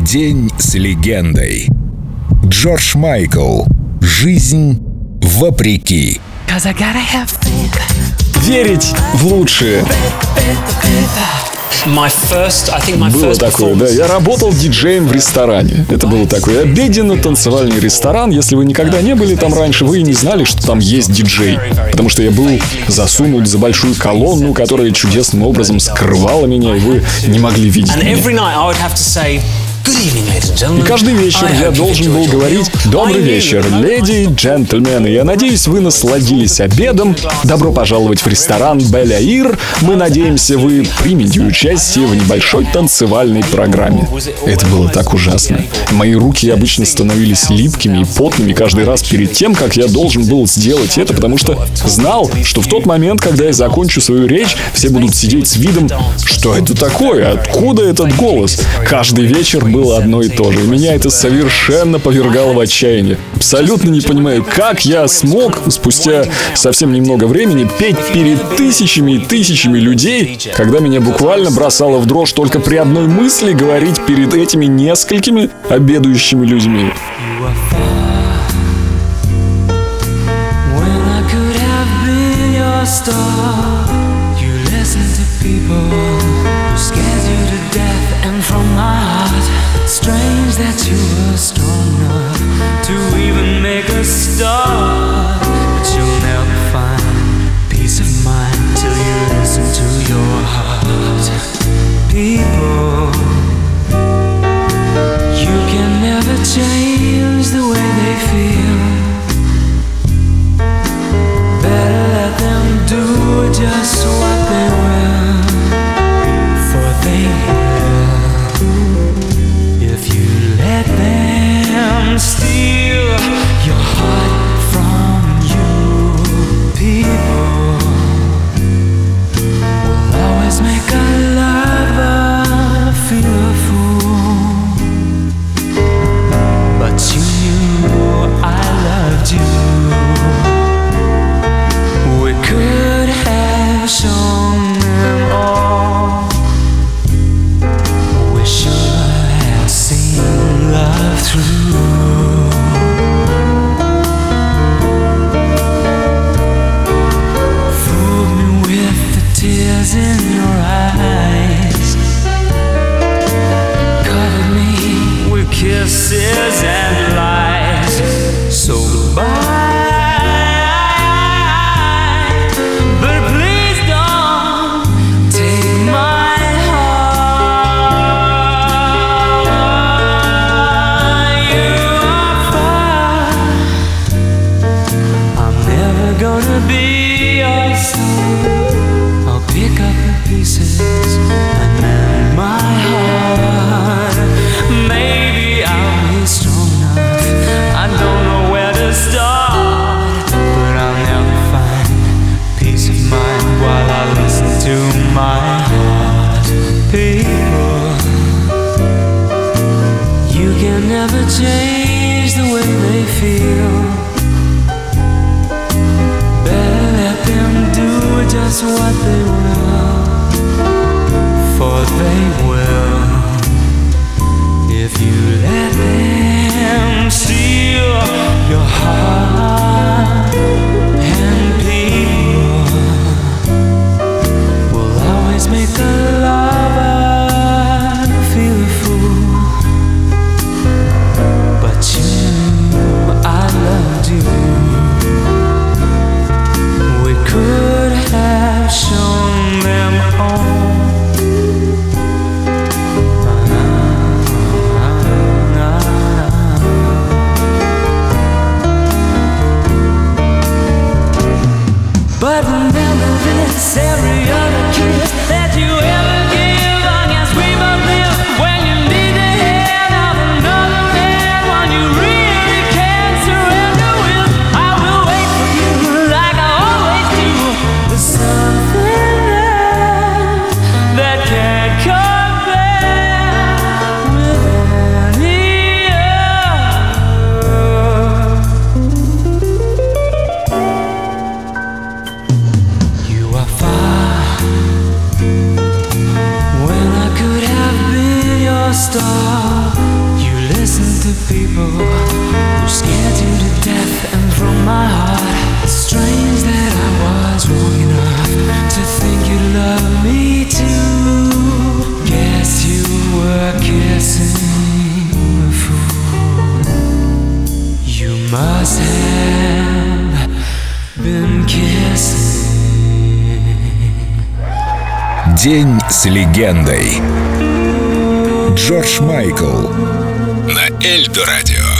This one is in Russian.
День с легендой. Джордж Майкл. Жизнь вопреки. Верить в лучшее. Было такое, да. Я работал диджеем в ресторане. Это был такой обеденно-танцевальный ресторан. Если вы никогда не были там раньше, вы и не знали, что там есть диджей. Потому что я был засунут за большую колонну, которая чудесным образом скрывала меня, и вы не могли видеть меня. И каждый вечер я должен был говорить: «Добрый вечер, леди и джентльмены. Я надеюсь, вы насладились обедом. Добро пожаловать в ресторан Бель-Аир. Мы надеемся, вы примете участие в небольшой танцевальной программе». Это было так ужасно. Мои руки обычно становились липкими и потными каждый раз перед тем, как я должен был сделать это, потому что знал, что в тот момент, когда я закончу свою речь, все будут сидеть с видом: «Что это такое? Откуда этот голос?» Каждый вечер было одно и то же. И меня это совершенно повергало в отчаяние. Абсолютно не понимаю, как я смог спустя совсем немного времени петь перед тысячами и тысячами людей, когда меня буквально бросало в дрожь только при одной мысли говорить перед этими несколькими обедающими людьми. Strange that you were strong enough to even make a start, but you'll never find peace of mind till you listen to your heart. People, you can never change the way they feel. Better let them do just what they will, for they will. If you let them steal your heart from you, people will always make a lover feel a fool. But you knew I loved you. We could have shown them all. We should have seen love through. Fooled me with the tears in your eyes, covered me with kisses and lies. So goodbye. Gonna be your son. I'll pick up the pieces and mend my heart. Maybe I'll be strong enough. I don't know where to start, but I'll never find peace of mind while I listen to my heart. People, you can never change the way they feel. Just what they will, for they will. If you let them steal your heart, and people will always make a lover feel a fool. But you knew I loved you. We could have shown them all. But remember this, every other kiss that you ever give, I guess we both live when you need the hand of another man, when you really can't surrender with. I will wait for you like I always do. There's something there that can't compare with any other. You are far when I could have been your star. to people who scared you to death, and from my heart, strange that I was wrong enough to think you loved me too. Guess you were kissing a fool. You must have been kissing. День с легендой. Джордж Майкл на Эльдо Радио.